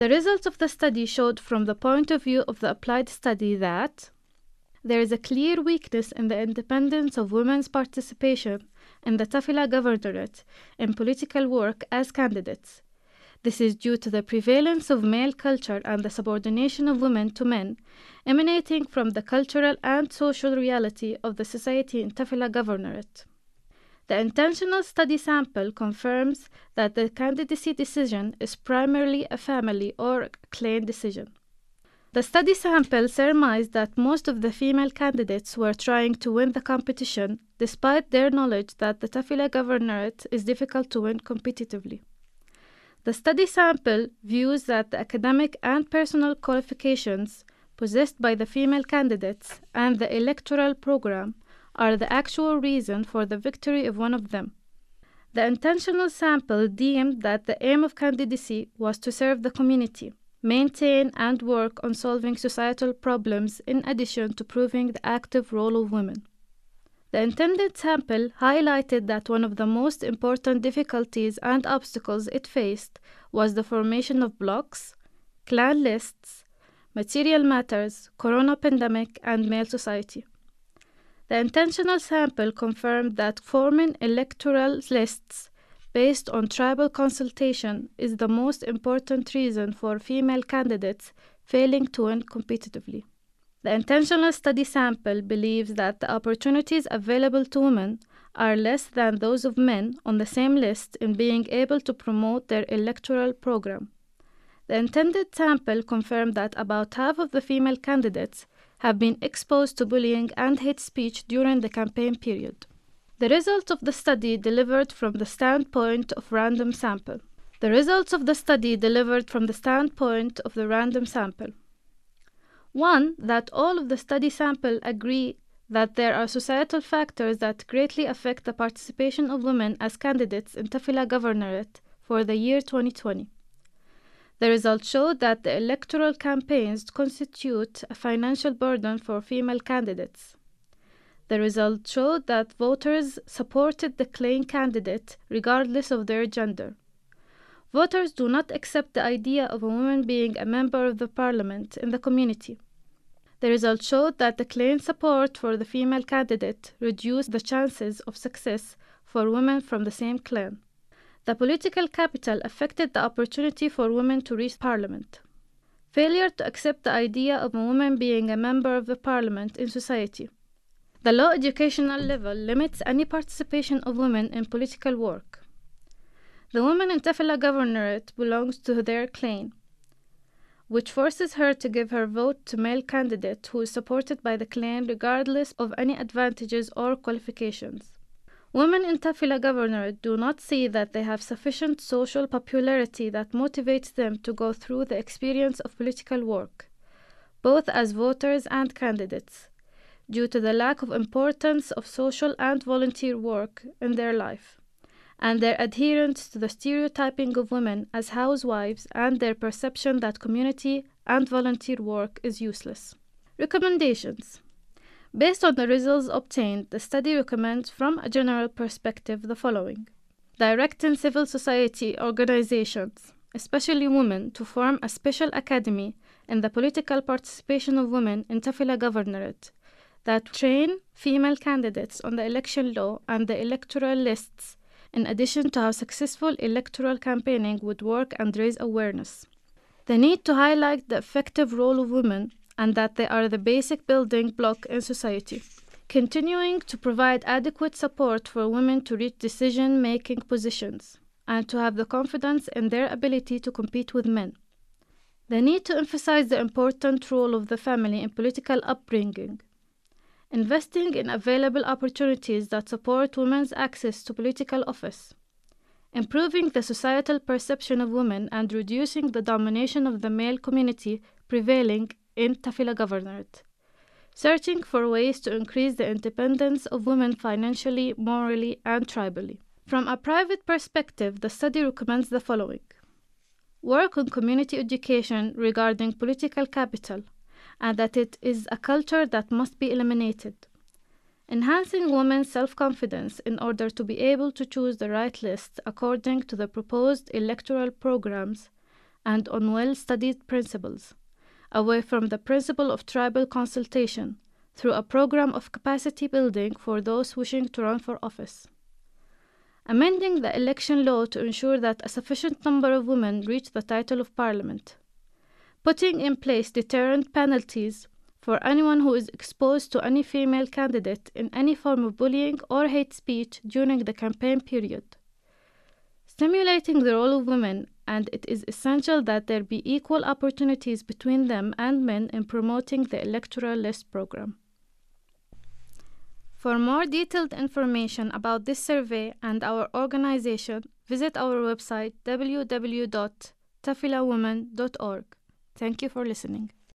The results of the study showed from the point of view of the applied study that there is a clear weakness in the independence of women's participation in the Tafila Governorate in political work as candidates. This is due to the prevalence of male culture and the subordination of women to men, emanating from the cultural and social reality of the society in Tafila Governorate. The intentional study sample confirms that the candidacy decision is primarily a family or clan decision. The study sample surmised that most of the female candidates were trying to win the competition despite their knowledge that the Tafila Governorate is difficult to win competitively. The study sample views that the academic and personal qualifications possessed by the female candidates and the electoral program are the actual reason for the victory of one of them. The intentional sample deemed that the aim of candidacy was to serve the community, maintain and work on solving societal problems in addition to proving the active role of women. The intended sample highlighted that one of the most important difficulties and obstacles it faced was the formation of blocks, clan lists, material matters, corona pandemic, and male society. The intentional sample confirmed that forming electoral lists based on tribal consultation is the most important reason for female candidates failing to win competitively. The intentional study sample believes that the opportunities available to women are less than those of men on the same list in being able to promote their electoral program. The intended sample confirmed that about half of the female candidates have been exposed to bullying and hate speech during the campaign period. The results of the study delivered from the standpoint of random sample. The results of the study delivered from the standpoint of the random sample. 1. That all of the study sample agree that there are societal factors that greatly affect the participation of women as candidates in Tafila Governorate for the year 2020. The results showed that the electoral campaigns constitute a financial burden for female candidates. The results showed that voters supported the clan candidate regardless of their gender. Voters do not accept the idea of a woman being a member of the parliament in the community. The results showed that the clan support for the female candidate reduced the chances of success for women from the same clan. The political capital affected the opportunity for women to reach parliament. Failure to accept the idea of a woman being a member of the parliament in society. The low educational level limits any participation of women in political work. The woman in Tafila Governorate belongs to their clan, which forces her to give her vote to male candidate who is supported by the clan regardless of any advantages or qualifications. Women in Tafila Governorate do not see that they have sufficient social popularity that motivates them to go through the experience of political work, both as voters and candidates, due to the lack of importance of social and volunteer work in their life, and their adherence to the stereotyping of women as housewives and their perception that community and volunteer work is useless. Recommendations. Based on the results obtained, the study recommends from a general perspective the following. Directing civil society organizations, especially women, to form a special academy in the political participation of women in Tafila Governorate that train female candidates on the election law and the electoral lists, in addition to how successful electoral campaigning would work and raise awareness. The need to highlight the effective role of women and that they are the basic building block in society. Continuing to provide adequate support for women to reach decision-making positions and to have the confidence in their ability to compete with men. The need to emphasize the important role of the family in political upbringing. Investing in available opportunities that support women's access to political office. Improving the societal perception of women and reducing the domination of the male community prevailing in Tafila Governorate. Searching for ways to increase the independence of women financially, morally, and tribally. From a private perspective, the study recommends the following. Work on community education regarding political capital, and that it is a culture that must be eliminated. Enhancing women's self-confidence in order to be able to choose the right list according to the proposed electoral programs, and on well-studied principles, away from the principle of tribal consultation, through a program of capacity building for those wishing to run for office. Amending the election law to ensure that a sufficient number of women reach the title of parliament. Putting in place deterrent penalties for anyone who is exposed to any female candidate in any form of bullying or hate speech during the campaign period. Stimulating the role of women, and it is essential that there be equal opportunities between them and men in promoting the electoral list program. For more detailed information about this survey and our organization, visit our website www.tafilawomen.org. Thank you for listening.